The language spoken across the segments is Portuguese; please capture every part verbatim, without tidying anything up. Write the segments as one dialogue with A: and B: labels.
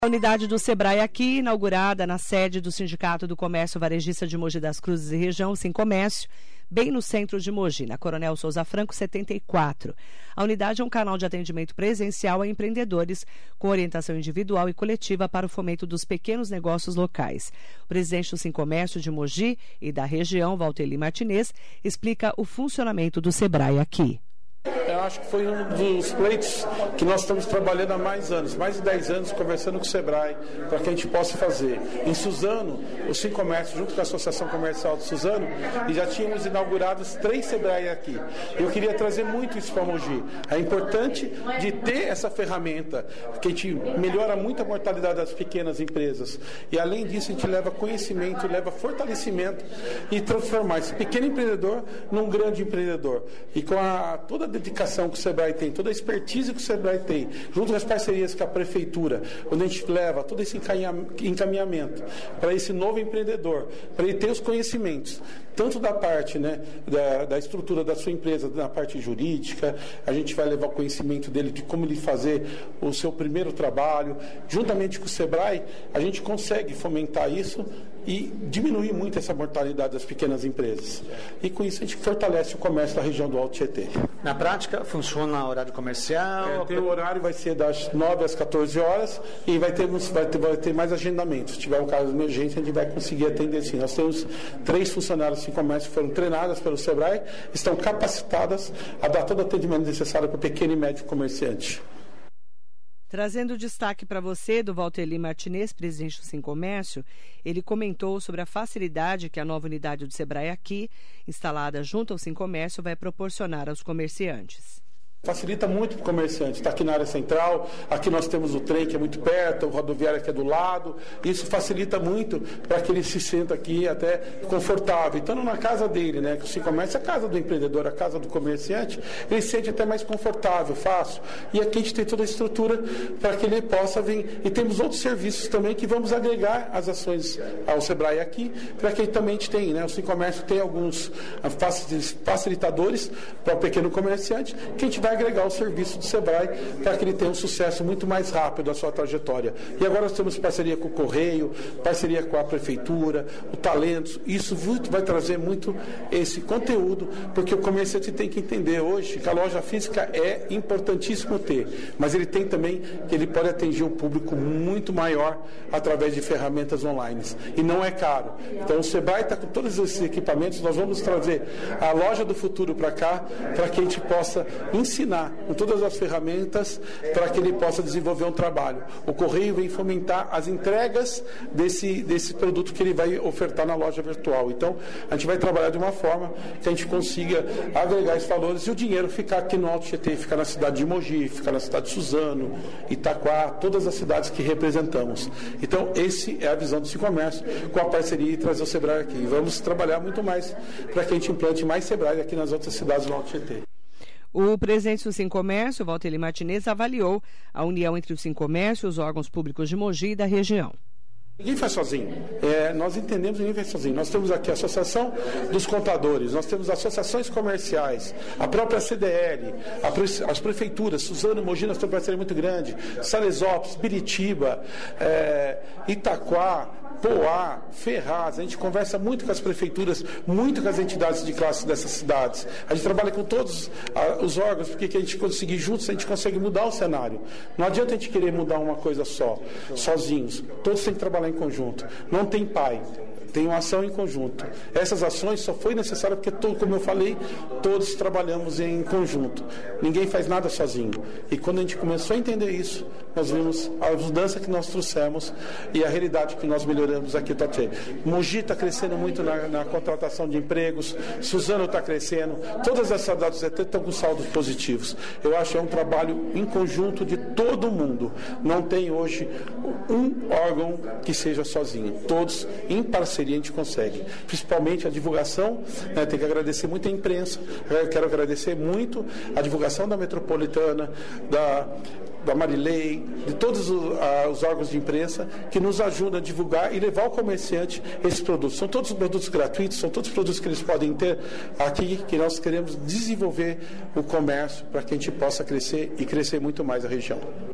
A: A unidade do Sebrae aqui, inaugurada na sede do Sindicato do Comércio Varejista de Mogi das Cruzes e Região, Sincomércio, bem no centro de Mogi, na Coronel Souza Franco, setenta e quatro. A unidade é um canal de atendimento presencial a empreendedores com orientação individual e coletiva para o fomento dos pequenos negócios locais. O presidente do Sincomércio de Mogi e da região, Valteli Martinez, explica o funcionamento do Sebrae aqui.
B: Eu acho que foi um dos pleitos que nós estamos trabalhando há mais anos, mais de dez anos, conversando com o Sebrae, para que a gente possa fazer. Em Suzano, o Sincomércio, junto com a Associação Comercial de Suzano, e já tínhamos inaugurado três Sebrae aqui. Eu queria trazer muito isso para Mogi. É importante de ter essa ferramenta, que a gente melhora muito a mortalidade das pequenas empresas. E além disso, a gente leva conhecimento, leva fortalecimento e transformar esse pequeno empreendedor num grande empreendedor. E com a, toda a dedicação que o Sebrae tem, toda a expertise que o Sebrae tem, junto com as parcerias com a Prefeitura, onde a gente leva todo esse encaminhamento para esse novo empreendedor, para ele ter os conhecimentos, tanto da parte, né, da, da estrutura da sua empresa, da parte jurídica, a gente vai levar o conhecimento dele de como ele fazer o seu primeiro trabalho. Juntamente com o Sebrae, a gente consegue fomentar isso e diminuir muito essa mortalidade das pequenas empresas. E com isso a gente fortalece o comércio da região do Alto Tietê.
C: Na prática, funciona horário comercial?
B: É, tem o horário, vai ser das nove às quatorze horas e vai ter, vai ter, vai ter mais agendamentos. Se tiver um caso de emergência, a gente vai conseguir atender sim. Nós temos três funcionários de comércio que foram treinadas pelo Sebrae, estão capacitadas a dar todo o atendimento necessário para o pequeno e médio comerciante.
A: Trazendo destaque para você do Valteli Martinez, presidente do Sincomércio, ele comentou sobre a facilidade que a nova unidade do Sebrae aqui, instalada junto ao Sincomércio, vai proporcionar aos comerciantes.
B: Facilita muito para o comerciante, está aqui na área central, aqui nós temos o trem que é muito perto, o rodoviário que é do lado, isso facilita muito para que ele se sinta aqui até confortável. Estando na casa dele, né, que o Sincomércio é a casa do empreendedor, a casa do comerciante, ele se sente até mais confortável, fácil. E aqui a gente tem toda a estrutura para que ele possa vir. E temos outros serviços também que vamos agregar as ações ao Sebrae aqui, para que ele também tenha, né, o Sincomércio tem alguns facilitadores para o pequeno comerciante, que a gente vai agregar o serviço do Sebrae para que ele tenha um sucesso muito mais rápido na sua trajetória. E agora nós temos parceria com o Correio, parceria com a Prefeitura, o Talentos. Isso vai trazer muito esse conteúdo, porque o comerciante tem que entender hoje que a loja física é importantíssimo ter, mas ele tem também que ele pode atingir um público muito maior através de ferramentas online. E não é caro. Então o Sebrae está com todos esses equipamentos, nós vamos trazer a loja do futuro para cá, para que a gente possa ensinar ensinar com todas as ferramentas para que ele possa desenvolver um trabalho. O Correio vem fomentar as entregas desse, desse produto que ele vai ofertar na loja virtual. Então, a gente vai trabalhar de uma forma que a gente consiga agregar esses valores e o dinheiro ficar aqui no Alto Tietê, ficar na cidade de Mogi, ficar na cidade de Suzano, Itaquá, todas as cidades que representamos. Então, esse é a visão do Sincomércio, com a parceria e trazer o Sebrae aqui. E vamos trabalhar muito mais para que a gente implante mais Sebrae aqui nas outras cidades do Alto Tietê.
A: O presidente do Sincomércio, Valteli Martinez, avaliou a união entre o Sincomércio e os órgãos públicos de Mogi e da região.
B: Ninguém faz sozinho. É, nós entendemos que ninguém faz sozinho. Nós temos aqui a Associação dos Contadores, nós temos associações comerciais, a própria C D L, a, as prefeituras, Suzano, Mogi, nós temos uma parceria muito grande, Salesópolis, Biritiba, é, Itaquá, Poá, Ferraz. A gente conversa muito com as prefeituras, muito com as entidades de classe dessas cidades. A gente trabalha com todos ah, os órgãos, porque que a gente conseguir juntos, a gente consegue mudar o cenário. Não adianta a gente querer mudar uma coisa só, sozinhos. Todos têm que trabalhar em conjunto. Não tem pai. Tem uma ação em conjunto. Essas ações só foi necessária porque, como eu falei, todos trabalhamos em conjunto. Ninguém faz nada sozinho. E quando a gente começou a entender isso, nós vimos a mudança que nós trouxemos e a realidade que nós melhoramos aqui no Tietê. Mogi está crescendo muito na, na contratação de empregos, Suzano está crescendo, todas as cidades do Tietê estão com saldos positivos. Eu acho que é um trabalho em conjunto de todo mundo. Não tem hoje um órgão que seja sozinho. Todos em parceria a gente consegue, principalmente a divulgação, né, tem que agradecer muito a imprensa, eu quero agradecer muito a divulgação da Metropolitana, da, da Marilei, de todos os, uh, os órgãos de imprensa que nos ajudam a divulgar e levar ao comerciante esses produtos. São todos produtos gratuitos, são todos produtos que eles podem ter aqui, que nós queremos desenvolver o comércio para que a gente possa crescer e crescer muito mais a região.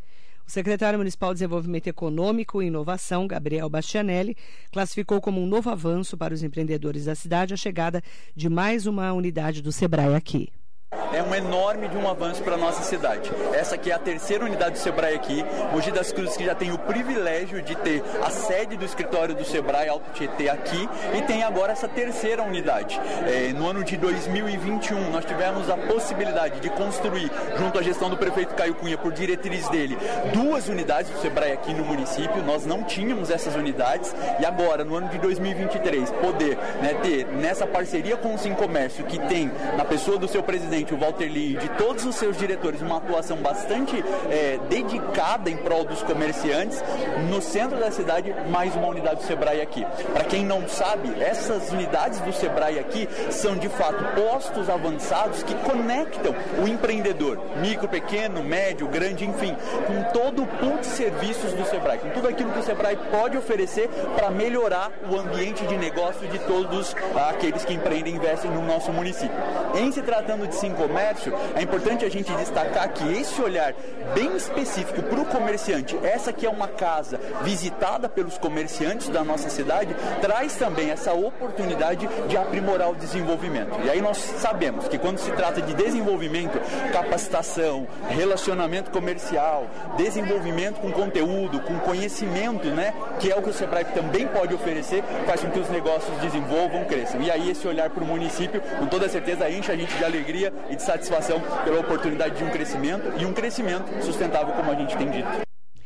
A: O secretário municipal de Desenvolvimento Econômico e Inovação, Gabriel Bastianelli, classificou como um novo avanço para os empreendedores da cidade a chegada de mais uma unidade do Sebrae aqui.
D: É um enorme de um avanço para a nossa cidade. Essa aqui é a terceira unidade do Sebrae aqui. Mogi das Cruzes, que já tem o privilégio de ter a sede do escritório do Sebrae Alto Tietê aqui, e tem agora essa terceira unidade. É, no ano de dois mil e vinte e um, nós tivemos a possibilidade de construir, junto à gestão do prefeito Caio Cunha, por diretriz dele, duas unidades do Sebrae aqui no município. Nós não tínhamos essas unidades, e agora, no ano de dois mil e vinte e três, poder, né, ter nessa parceria com o Sincomércio, que tem na pessoa do seu presidente, o Walter Lee, e de todos os seus diretores, uma atuação bastante é, dedicada em prol dos comerciantes, no centro da cidade, mais uma unidade do Sebrae aqui. Para quem não sabe, essas unidades do Sebrae aqui são de fato postos avançados que conectam o empreendedor, micro, pequeno, médio, grande, enfim, com todo o pool de serviços do Sebrae, com tudo aquilo que o Sebrae pode oferecer para melhorar o ambiente de negócio de todos aqueles que empreendem e investem no nosso município. Em se tratando de comércio, é importante a gente destacar que esse olhar bem específico para o comerciante, essa que é uma casa visitada pelos comerciantes da nossa cidade, traz também essa oportunidade de aprimorar o desenvolvimento. E aí nós sabemos que quando se trata de desenvolvimento, capacitação, relacionamento comercial, desenvolvimento com conteúdo, com conhecimento, né, que é o que o Sebrae também pode oferecer, faz com que os negócios desenvolvam, cresçam. E aí esse olhar para o município, com toda certeza, enche a gente de alegria e de satisfação pela oportunidade de um crescimento, e um crescimento sustentável, como a gente tem dito.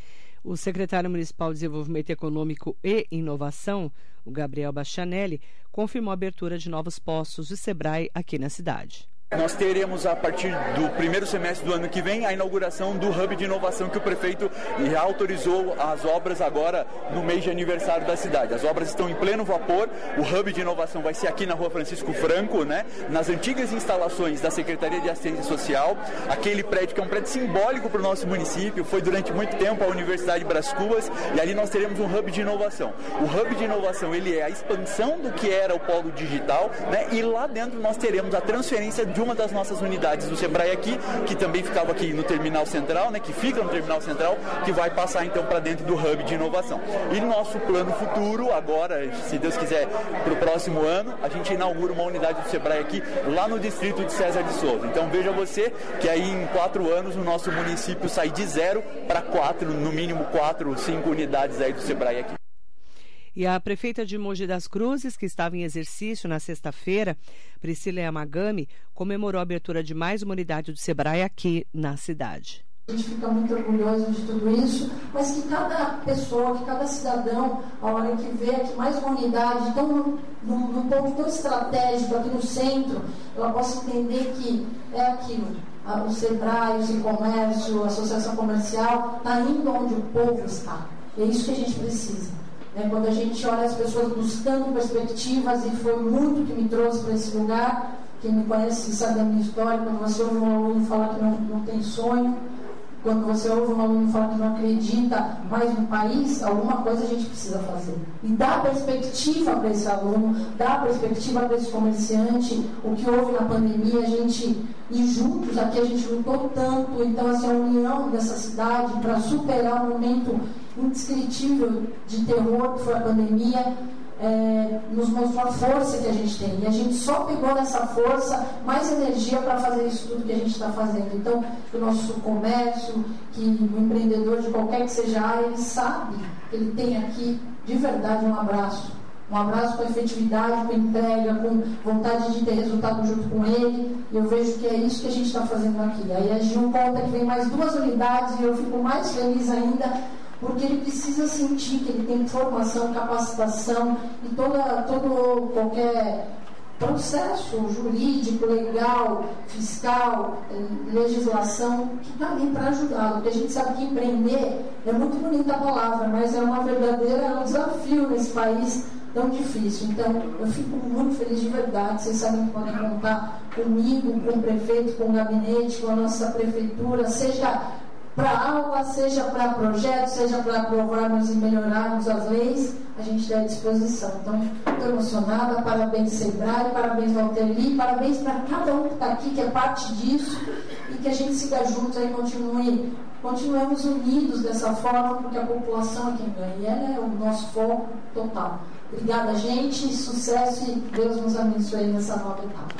A: O secretário municipal de Desenvolvimento Econômico e Inovação, o Gabriel Bastianelli, confirmou a abertura de novos postos de Sebrae aqui na cidade.
D: Nós teremos, a partir do primeiro semestre do ano que vem, a inauguração do Hub de Inovação, que o prefeito autorizou as obras agora no mês de aniversário da cidade. As obras estão em pleno vapor. O Hub de Inovação vai ser aqui na Rua Francisco Franco, né, nas antigas instalações da Secretaria de Assistência Social, aquele prédio que é um prédio simbólico para o nosso município, foi durante muito tempo a Universidade Brás Cubas, e ali nós teremos um Hub de Inovação. O Hub de Inovação, ele é a expansão do que era o polo digital, né, e lá dentro nós teremos a transferência de uma das nossas unidades do Sebrae aqui, que também ficava aqui no Terminal Central, né, que fica no Terminal Central, que vai passar então para dentro do Hub de Inovação. E nosso plano futuro, agora, se Deus quiser, para o próximo ano, a gente inaugura uma unidade do Sebrae aqui, lá no distrito de César de Souza. Então veja você que aí em quatro anos o nosso município sai de zero para quatro, no mínimo quatro, cinco unidades aí do Sebrae aqui.
A: E a prefeita de Mogi das Cruzes, que estava em exercício na sexta-feira, Priscila Yamagami, comemorou a abertura de mais uma unidade do Sebrae aqui na cidade.
E: A gente fica muito orgulhoso de tudo isso, mas que cada pessoa, que cada cidadão, a hora que vê aqui mais uma unidade, tão, num, num ponto tão estratégico aqui no centro, ela possa entender que é aquilo. O Sebrae, o Sincomércio, a Associação Comercial, está indo onde o povo está. É isso que a gente precisa. É, quando a gente olha as pessoas buscando perspectivas, e foi muito que me trouxe para esse lugar. Quem me conhece sabe da minha história. Quando você ouve um aluno falar que não, não tem sonho, quando você ouve um aluno falar que não acredita mais no país, alguma coisa a gente precisa fazer. E dar perspectiva para esse aluno, dar perspectiva para esse comerciante. O que houve na pandemia, a gente, e juntos aqui a gente lutou tanto. Então, assim, a união dessa cidade para superar um momento indescritível de terror que foi a pandemia, é, nos mostrou a força que a gente tem, e a gente só pegou nessa força mais energia para fazer isso tudo que a gente está fazendo. Então, o nosso comércio, que o empreendedor de qualquer que seja a área, ele sabe que ele tem aqui de verdade um abraço, um abraço com efetividade, com entrega, com vontade de ter resultado junto com ele, e eu vejo que é isso que a gente está fazendo aqui. Aí a Gil conta que vem mais duas unidades, e eu fico mais feliz ainda, porque ele precisa sentir que ele tem formação, capacitação e toda, todo qualquer processo jurídico, legal, fiscal, legislação, que está ali para ajudá-lo. Porque a gente sabe que empreender é muito bonita a palavra, mas é uma verdadeira, é um desafio nesse país tão difícil. Então, eu fico muito feliz de verdade. Vocês sabem que podem contar comigo, com o prefeito, com o gabinete, com a nossa prefeitura, seja para aula, seja para projetos, seja para aprovarmos e melhorarmos as leis, a gente está à disposição. Então, estou emocionada, parabéns Sebrae, parabéns Walter Lee, parabéns para cada um que está aqui, que é parte disso, e que a gente siga juntos e continue continuemos unidos dessa forma, porque a população é quem ganha, e ela é o nosso foco total. Obrigada, gente, sucesso e Deus nos abençoe nessa nova etapa.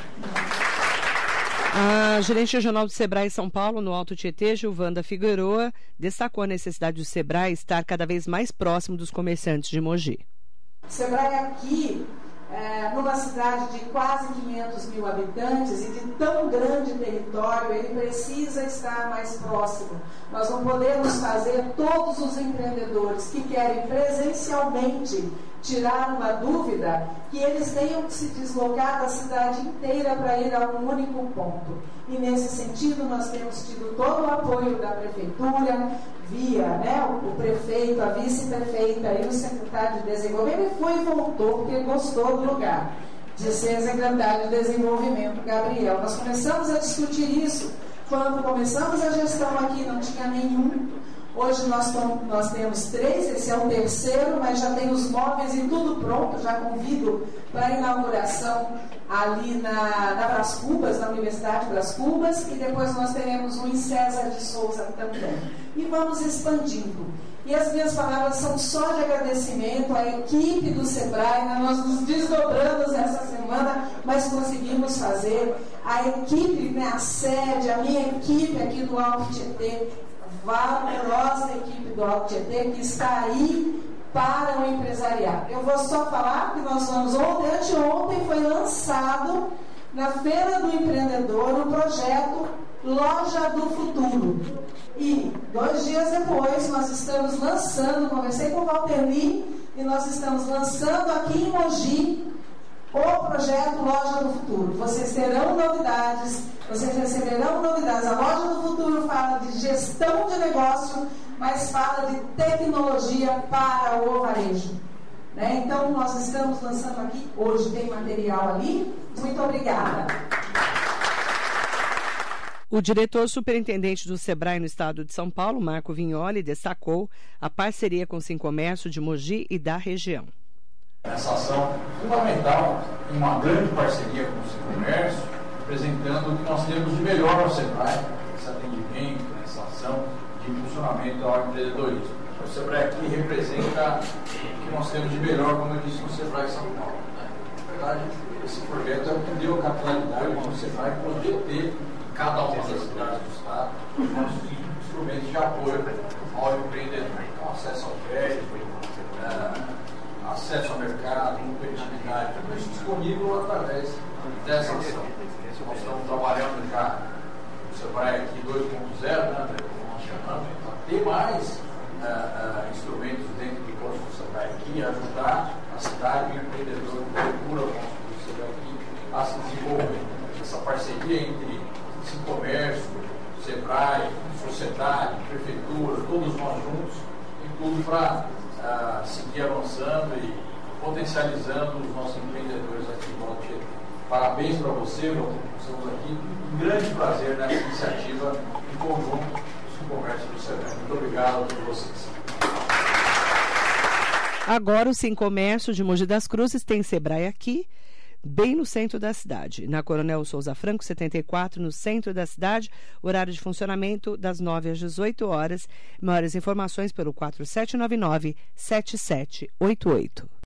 A: A gerente regional do Sebrae São Paulo, no Alto Tietê, Gilvanda Figueroa, destacou a necessidade do Sebrae estar cada vez mais próximo dos comerciantes de Mogi.
F: O Sebrae aqui, é, numa cidade de quase quinhentos mil habitantes e de tão grande território, ele precisa estar mais próximo. Nós não podemos fazer todos os empreendedores que querem presencialmente tirar uma dúvida, que eles tenham que se deslocar da cidade inteira para ir a um único ponto. E nesse sentido nós temos tido todo o apoio da Prefeitura, via né, o prefeito, a vice-prefeita e o secretário de Desenvolvimento. Ele foi e voltou porque gostou do lugar, de ser secretário de Desenvolvimento, Gabriel. Nós começamos a discutir isso quando começamos a gestão aqui, não tinha nenhum. Hoje nós, nós temos três, esse é o terceiro, mas já tem os móveis e tudo pronto. Já convido para a inauguração ali na, na Brás Cubas, na Universidade Brás Cubas, e depois nós teremos um em César de Souza também. E vamos expandindo. E as minhas palavras são só de agradecimento à equipe do Sebrae. Nós nos desdobramos essa semana, mas conseguimos fazer. A equipe, né, a sede, a minha equipe aqui do Alto Tietê, valorosa equipe do Alto Tietê, que está aí para o empresariado. Eu vou só falar que nós vamos, ontem, anteontem foi lançado na Feira do Empreendedor o projeto Loja do Futuro. E dois dias depois nós estamos lançando, conversei com o Walter Lee, e nós estamos lançando aqui em Mogi o projeto Loja do Futuro. Vocês terão novidades, vocês receberão novidades. A Loja do Futuro fala de gestão de negócio, mas fala de tecnologia para o varejo. Né? Então, nós estamos lançando aqui, hoje tem material ali. Muito obrigada.
A: O diretor superintendente do Sebrae no estado de São Paulo, Marco Vignoli, destacou a parceria com o Sincomércio de Mogi e da região.
G: Essa ação fundamental, em uma grande parceria com o Sincomércio, apresentando o que nós temos de melhor no Sebrae, esse atendimento, essa ação de impulsionamento ao empreendedorismo. O Sebrae aqui representa o que nós temos de melhor, como eu disse, no Sebrae São Paulo. Na verdade, esse projeto é o que deu capitalidade para o Sebrae poder ter em cada uma das cidades do estado os nossos instrumentos de apoio ao empreendedor. Então, acesso ao crédito, uh, acesso ao mercado, competitividade, tudo isso disponível através dessa ação. Nós estamos trabalhando já no Sebrae aqui dois ponto zero, né, como nós chamamos, para ter mais uh, uh, instrumentos dentro do curso do Sebrae aqui, ajudar a cidade e o empreendedor que procura o nosso curso do Sebrae aqui a se desenvolver. Essa parceria entre Sincomércio, Sebrae, sociedade, prefeitura, todos nós juntos, e tudo para Uh, seguir avançando e potencializando os nossos empreendedores aqui no Alto Tietê. Parabéns para você, meu. Estamos aqui. Um grande prazer nessa iniciativa em conjunto com o Comércio do Sebrae. Muito obrigado a todos vocês.
A: Agora o Sincomércio de Mogi das Cruzes tem Sebrae aqui, bem no centro da cidade. Na Coronel Souza Franco, setenta e quatro, no centro da cidade. Horário de funcionamento das nove às dezoito horas. Maiores informações pelo quatro sete nove nove, sete sete oito oito.